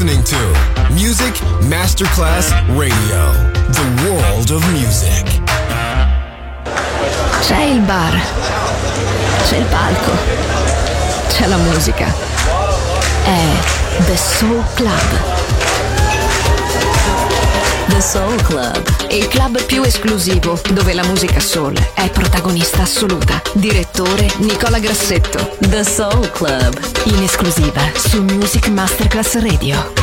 listening to Music Masterclass Radio, the world of music. C'è il bar, c'è il palco, c'è la musica. È The Soul Club. The Soul Club, il club più esclusivo dove la musica soul è protagonista assoluta. Direttore Nicola Grassetto. The Soul Club, in esclusiva su Music Masterclass Radio.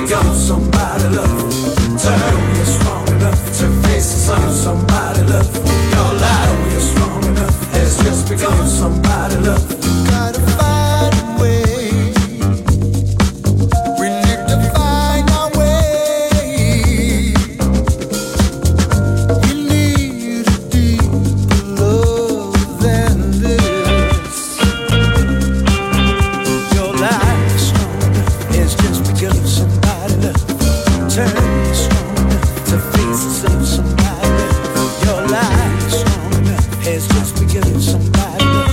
become somebody love. Turn, you're strong enough to face the sun. Somebody love. Your life, you're strong enough. Has just become somebody love. Gotta find a way. We need to find our way. We need a deeper love than this. Your life is strong enough. It's just become somebody love. Turn, you're strong enough to face the sun. Somebody love. Your life is strong enough. Has just become somebody love.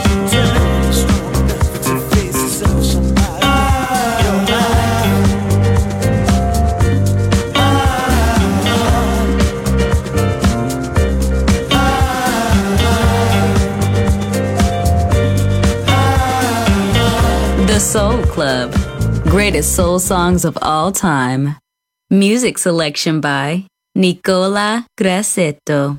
The Soul Club. Greatest soul songs of all time. Music selection by Nicola Grassetto.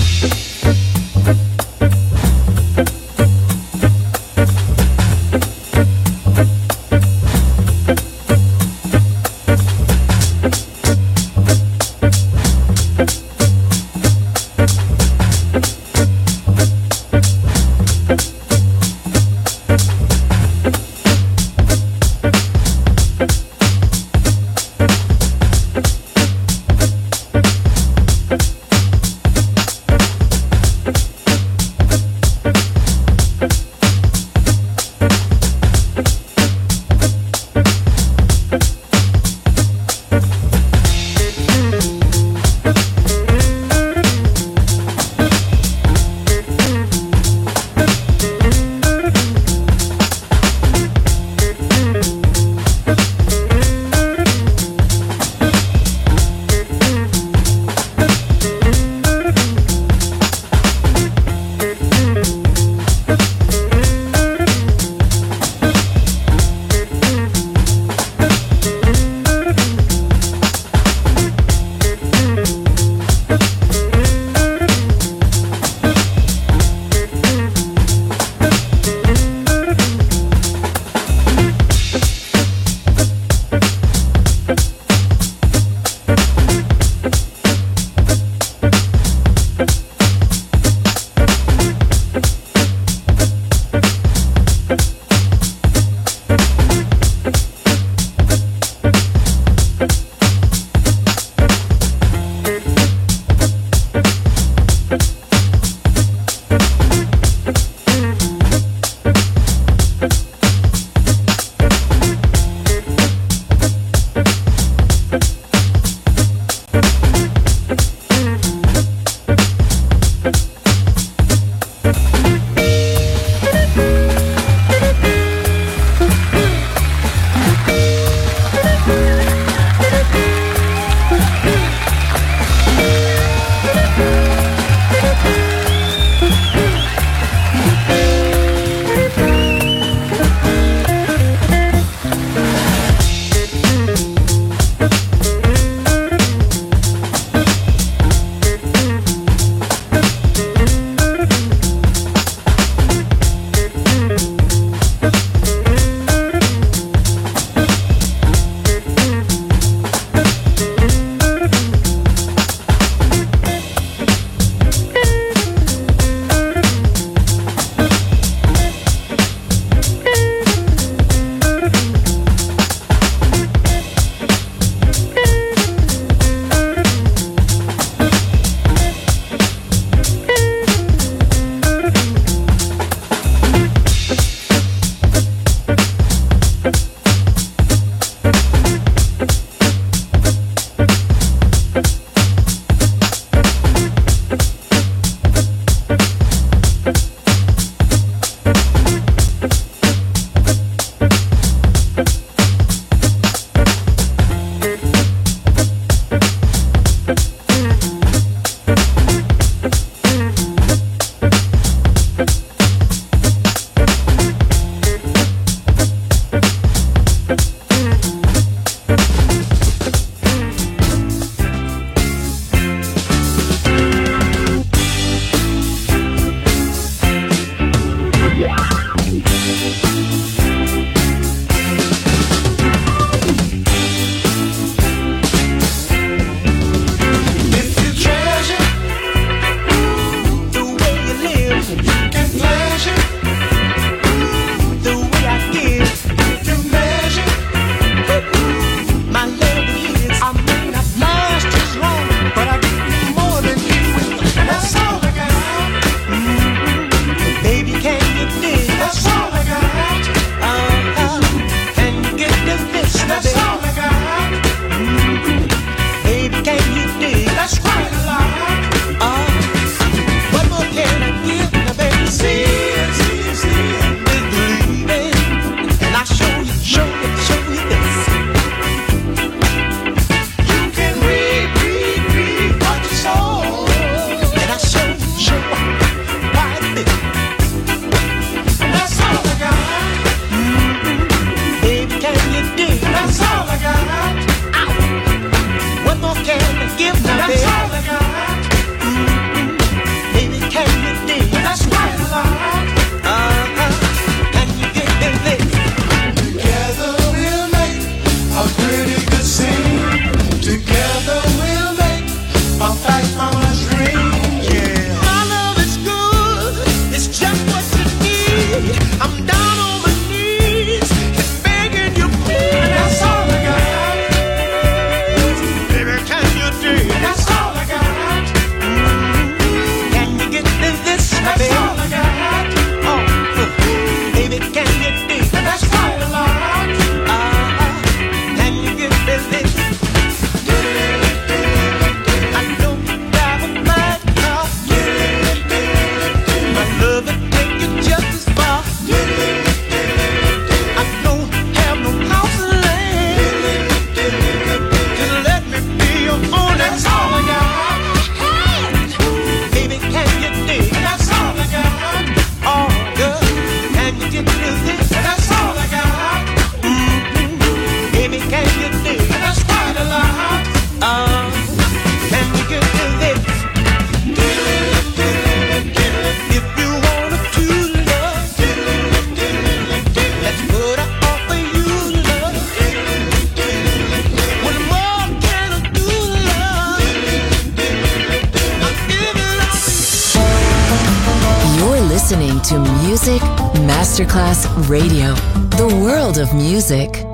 Music Masterclass Radio. The world of music.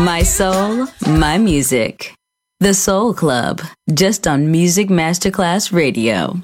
My soul, my music. The Soul Club, just on Music Masterclass Radio.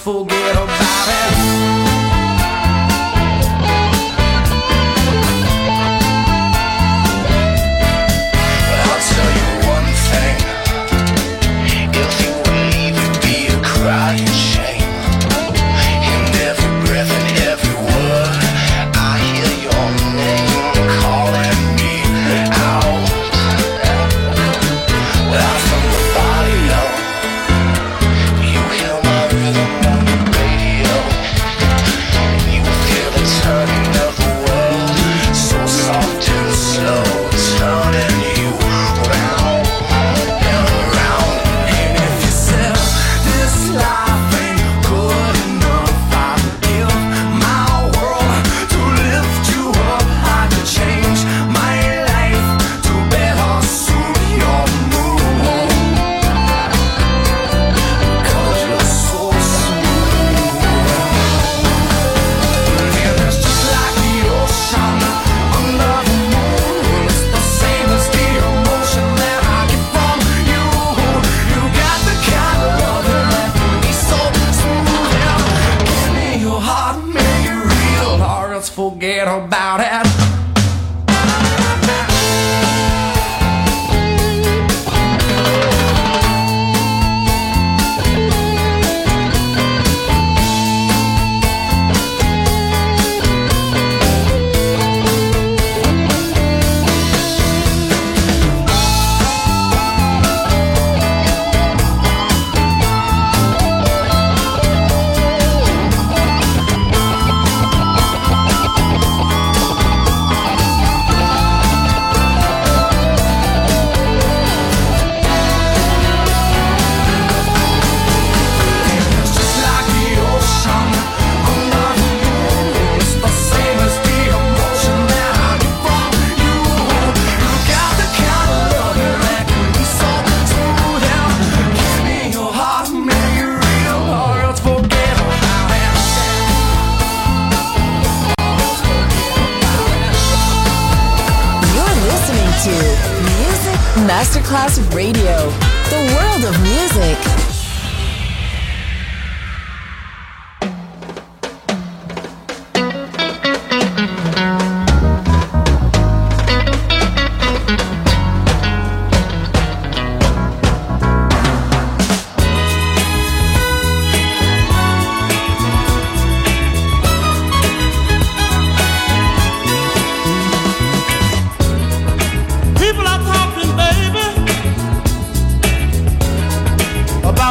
forget about it. Crying shame in every breath and every word. I hear your name calling me out. Out from the body, you hear my rhythm on the radio. You feel the turning of the world, so soft and slow, turning you round and around. And if you said this life ain't good enough, I'd give my world to lift you up. I could change my life to better suit your mood, 'cause you're so smooth. And it's just like the ocean under the moon. It's the same as the emotion that I get from you. You got the kind of love that can be so smooth. Yeah. Give me your heart, make it real, or else forget about it. Masterclass Radio, the world of music. About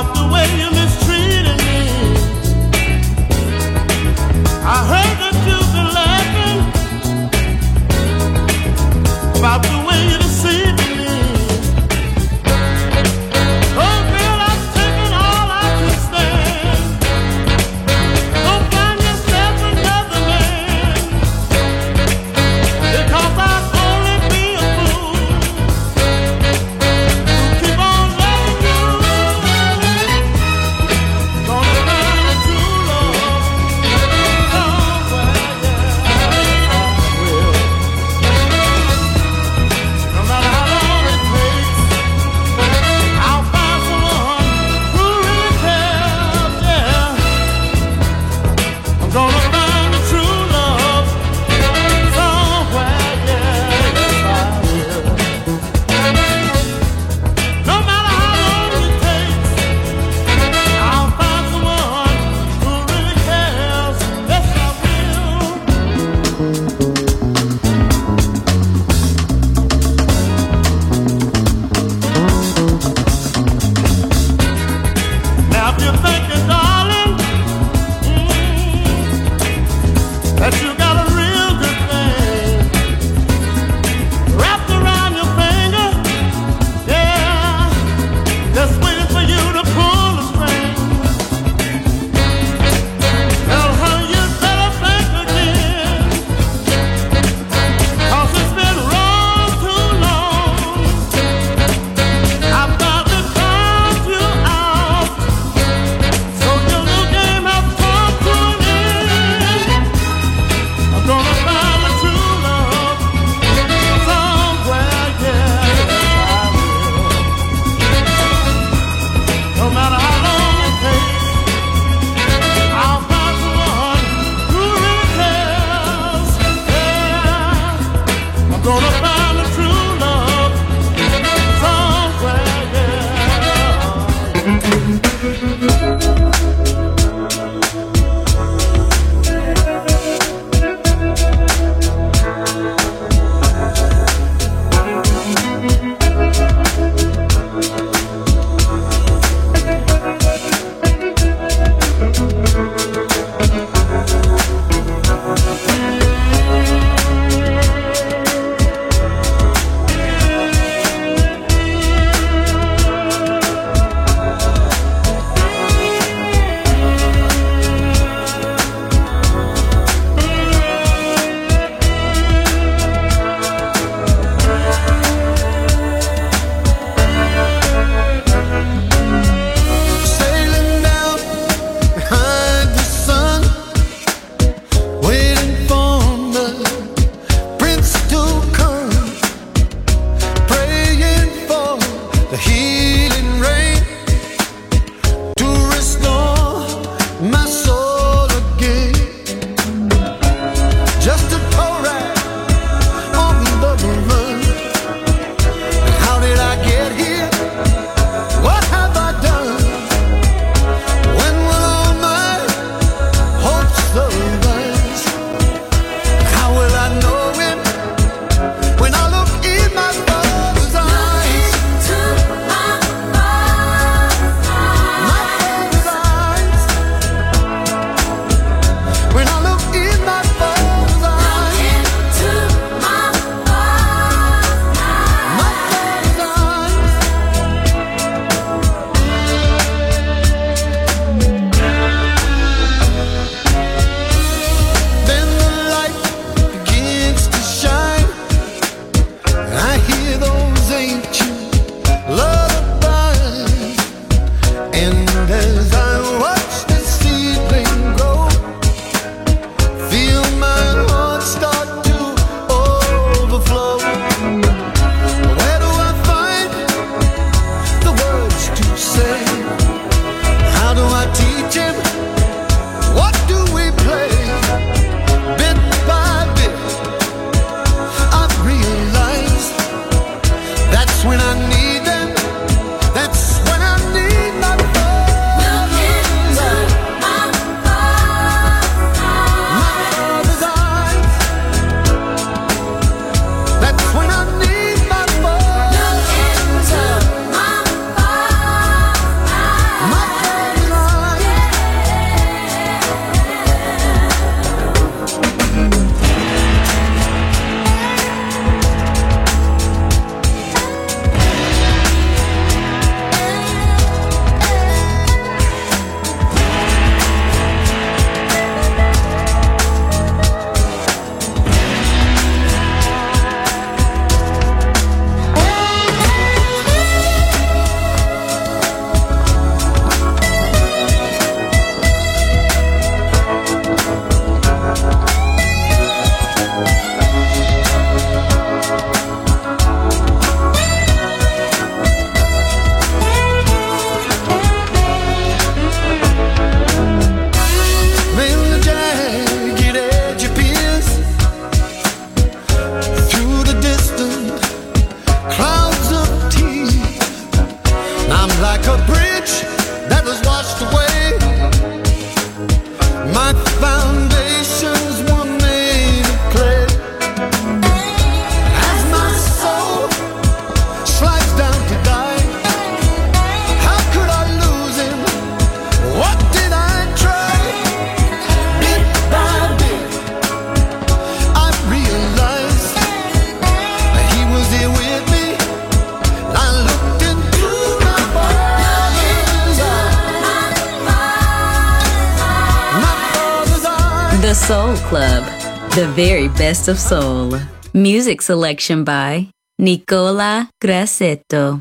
Soul Club, the very best of soul. Music selection by Nicola Grassetto.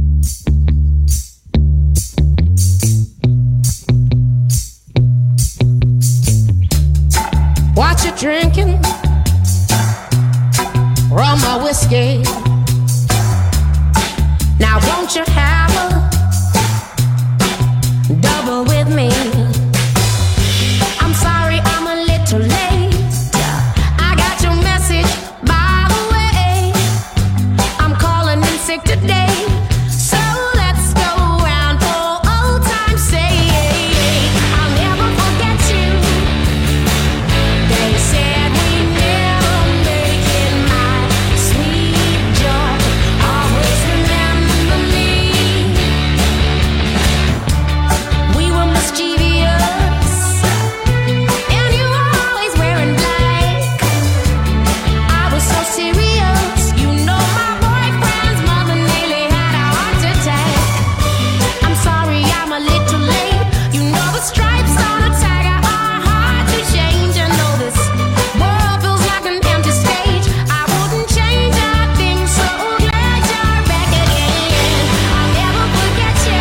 What you drinking? Rum or whiskey? Now won't you have a double with me? I'm sorry I'm a little late. I got your message, by the way. I'm calling in sick today, so let's go round for old time's sake. I'll never forget you. They said we never make it, my sweet joy. Always remember me. We were mischievous, and you were always wearing black. I was so serious, you know my boyfriend's mother nearly had a heart attack. I'm sorry I'm a little late. You know the stripes on a tiger are hard to change. I know this world feels like an empty stage. I wouldn't change a thing, so glad you're back again. I'll never forget you.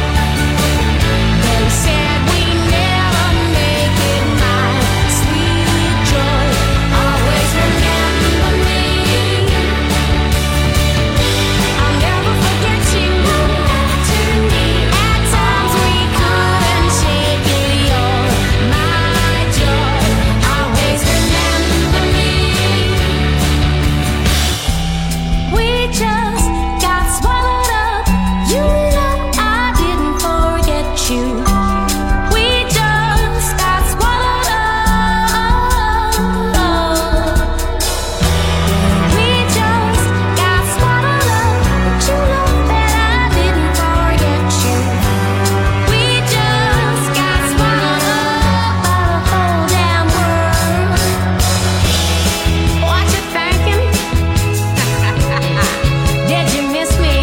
They said we never make it, my sweet joy. Always remember me. I'll never forget you. At times we couldn't shake it, you're my joy. Always remember me. We just got swallowed up. You know I didn't forget you. We just got swallowed up. We just got swallowed up. But you know that I didn't forget you. We just got swallowed up by the whole damn world. What you thinking? Did you miss me?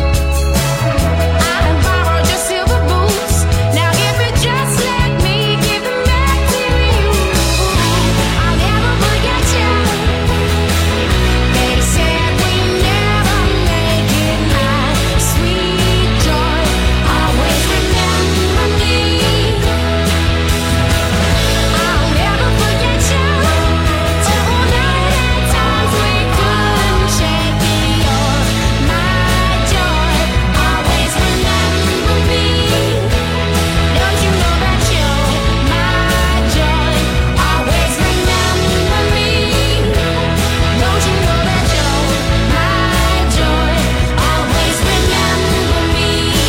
I done borrowed your silver boots. Now if you just let me give them back to you, I'll never forget you. They said we never make it, my sweet joy. Always remember me. I'll never forget you. Tonight at times we couldn't shake it, you're my joy. Always remember me. Don't you know that you're my joy? Always remember me. Don't you know that you're my joy? Always remember me.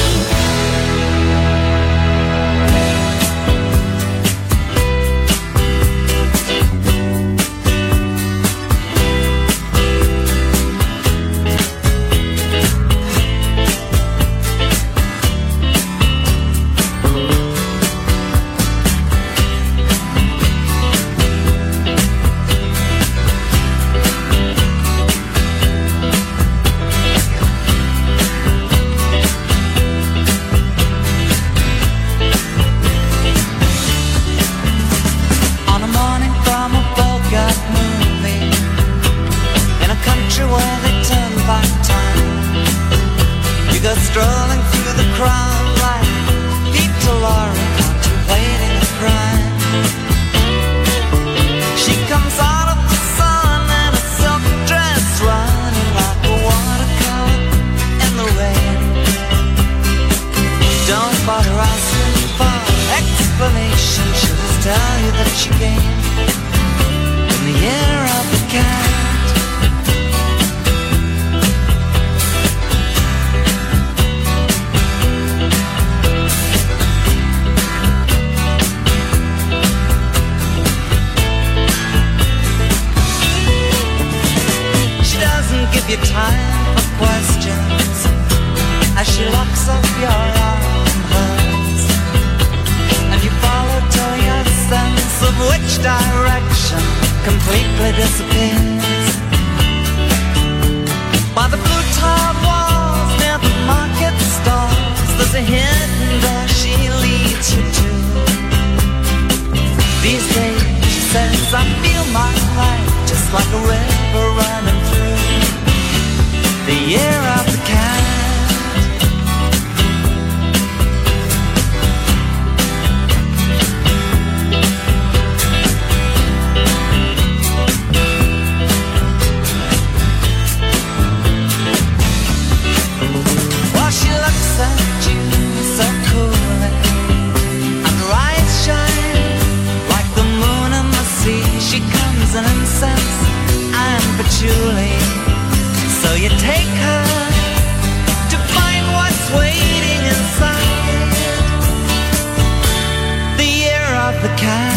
On a morning from a Bogart movie, in a country where they turn back time, you go strolling through the crowd like Peter Lorre contemplating a crime. She comes out of the sun in a silk dress, running like a watercolor in the rain. Don't bother asking for explanation, she'll just tell you that she came in the year of the cat. She doesn't give you time for questions as she locks up your arm in hers, and you follow till your sense of which direction completely disappears. By the blue tiled walls near the market stalls, there's a hidden door she leads you to. These days, she says, I feel my life just like a river running through the year of the cat. While she looks at you so coolly, and her eyes shine like the moon and the sea. She comes in incense and patchouli. So you take her to find what's waiting inside the year of the cat.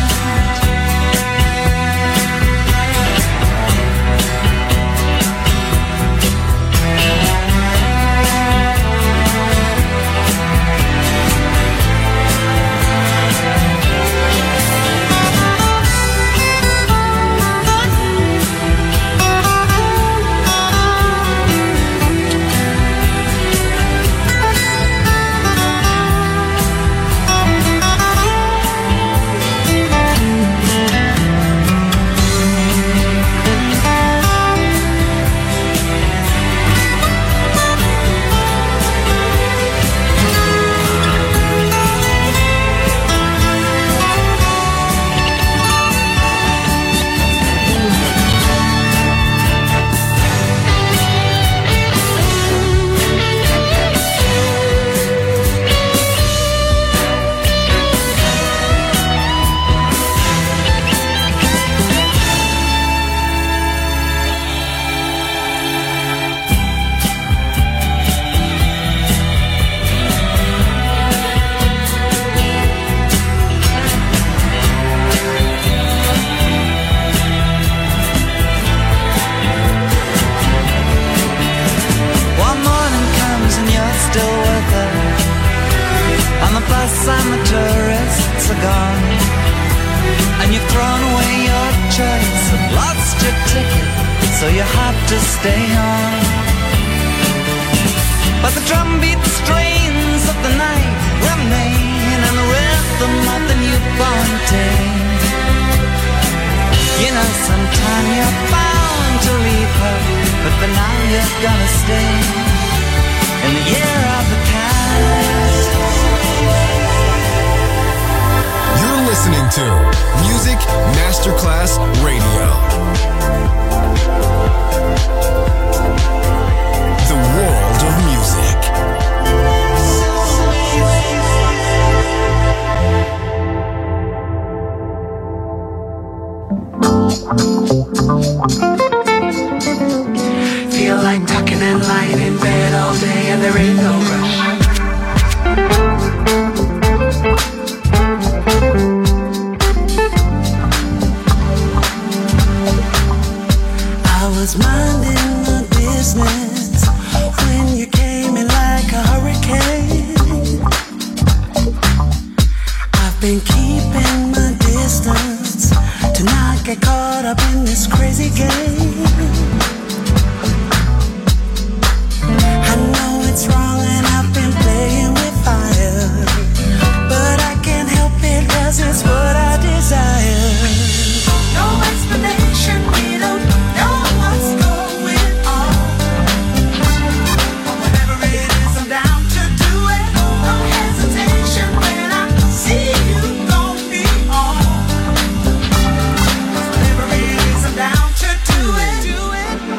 And the tourists are gone, and you've thrown away your choice and lost your ticket, so you have to stay on. But the drumbeat strains of the night remain, and the rhythm of the newborn day. You know, sometime you're bound to leave her, but for now you're gonna stay in the year of the cat. You're listening to Music Masterclass Radio. The world of music. Feel like tucking and lying in bed all day and there ain't no rush. I was minding my business when you came in like a hurricane. I've been keeping my distance to not get caught up in this crazy game. I know it's wrong and I've been playing with fire, but I can't help it 'cause it's what I desire. No explanation, we don't know what's going on. Whatever it is, I'm down to do it. No hesitation when I see you gon' be on. Whatever it is, I'm down to do it.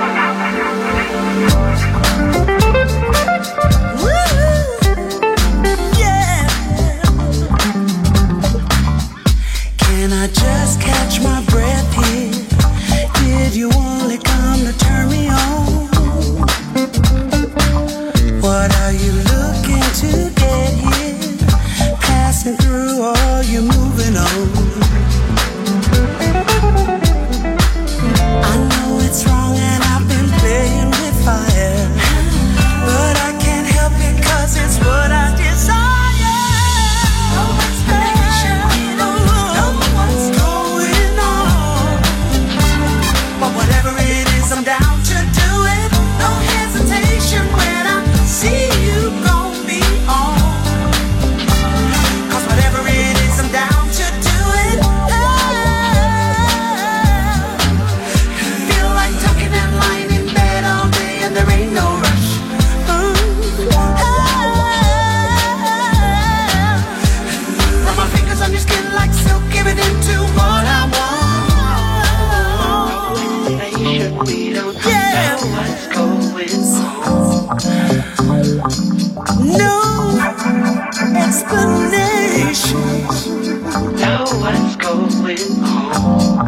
what's going on.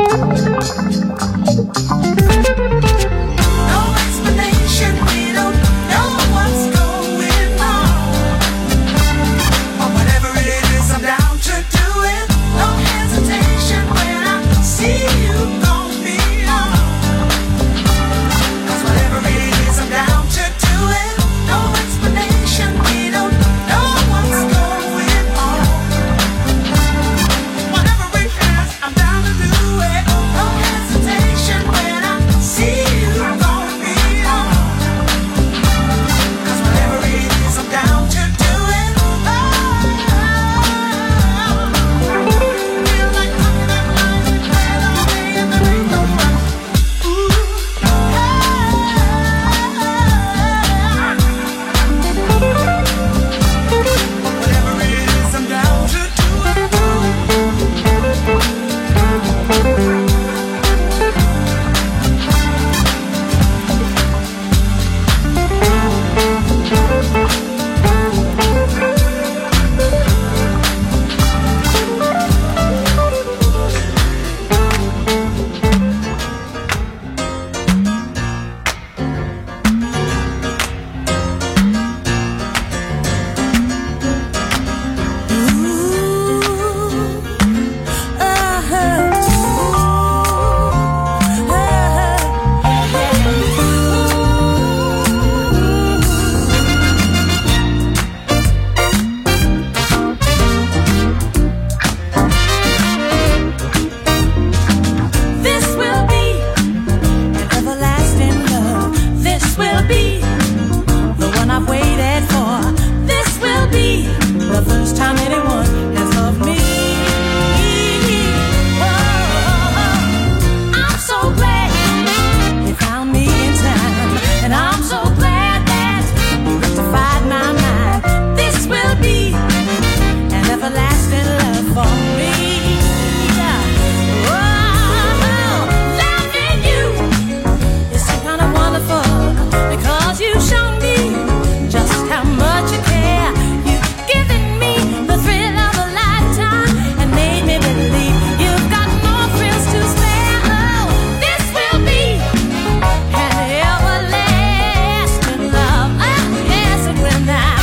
No explanation, we don't know what's going on. But whatever it is, I'm down to do it. No hesitation when I see you gon' be on. 'Cause whatever it is, I'm down to do it. No explanation, we don't know what's going on. Whatever it is, I'm down to do it. No hesitation when I see you gon' be on. 'Cause whatever it is, I'm down to do it. Feel like talking that line and play all day and there ain't no rush. Whatever it is, I'm down to do it. This will be an everlasting love. This will be the one I've waited for. This will be the first time anyone has loved me. Oh, I'm so glad you found me in time, and I'm so glad that you rectified my mind. This will be an everlasting love for me. Loving you is so kind of wonderful because you show me just how much you care. You've given me the thrill of a lifetime and made me believe you've got more thrills to spare. Oh, this will be an everlasting love. Oh, yes, it will now.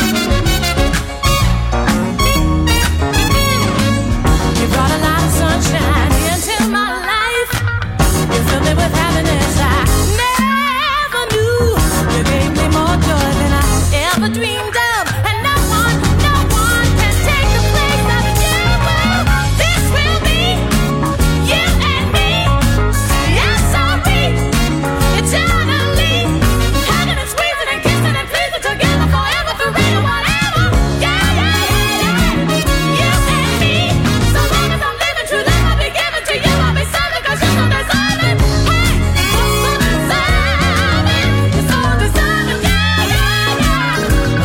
You brought a lot of sunshine into my life. You filled me with happiness I never knew. You gave me more joy than I ever dreamed of. And no one can take the place of you. This will be you and me. Yes, I'll be eternally hugging and squeezing and kissing and pleasing together forever, forever, whatever. Yeah, yeah, yeah, yeah. You and me. So long as I'm living true love, I'll be giving to you. I'll be serving 'cause you're so deserving. Hey, you're so deserving. You're so deserving. Yeah, yeah, yeah. Oh,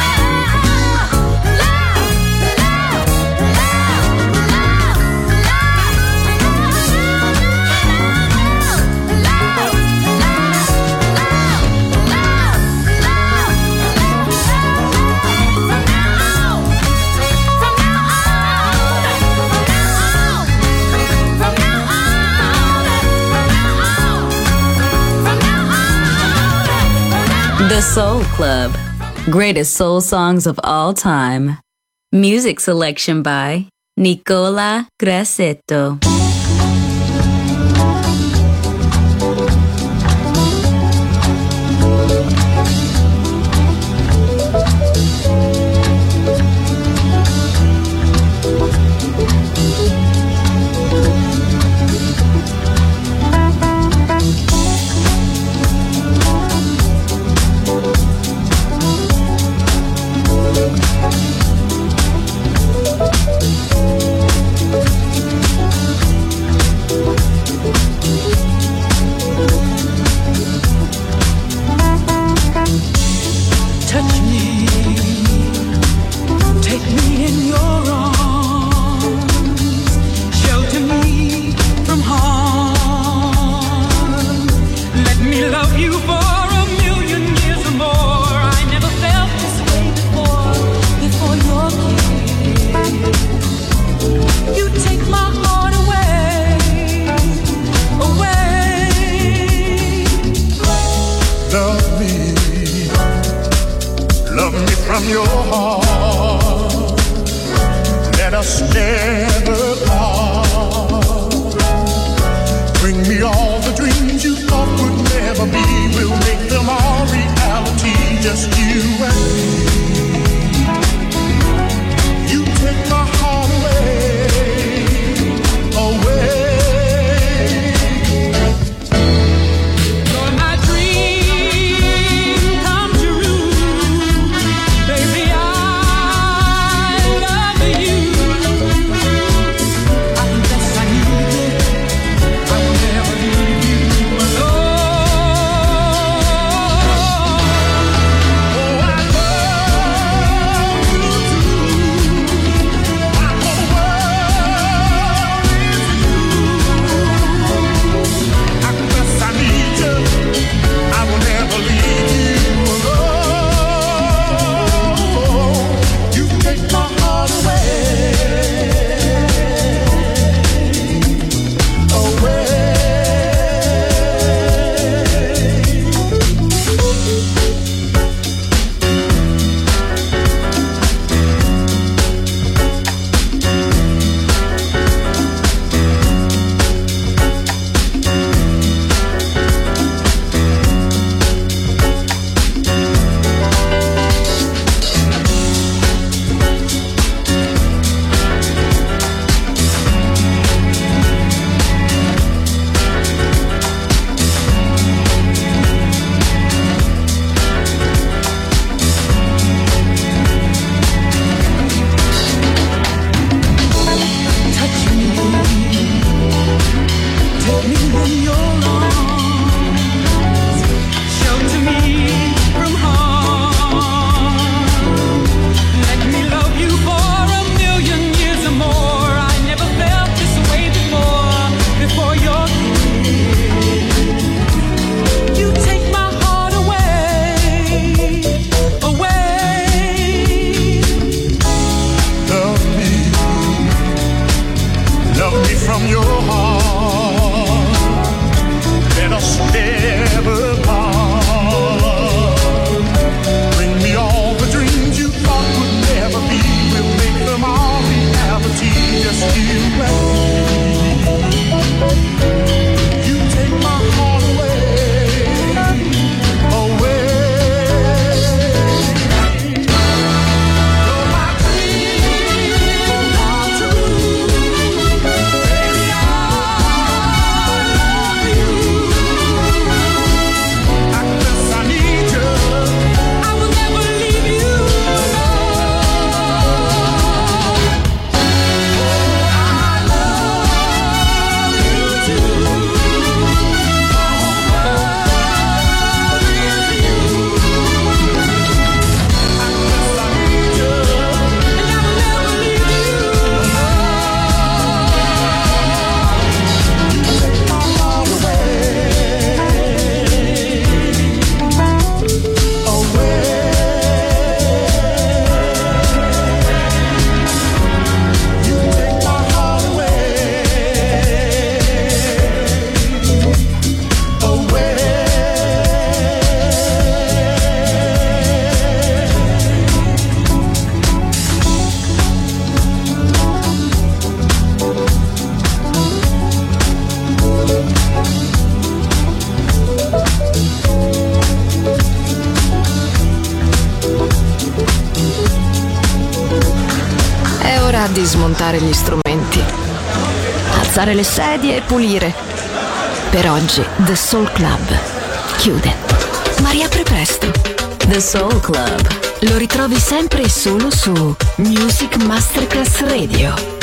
The Soul Club. Greatest soul songs of all time. Music selection by Nicola Grassetto. your heart. Let us never part. Bring me all the dreams you thought would never be. We'll make them all reality, just you and me. You take my heart away, away. Di smontare gli strumenti, alzare le sedie e pulire. Per oggi The Soul Club chiude, ma riapre presto. The Soul Club lo ritrovi sempre e solo su Music Masterclass Radio.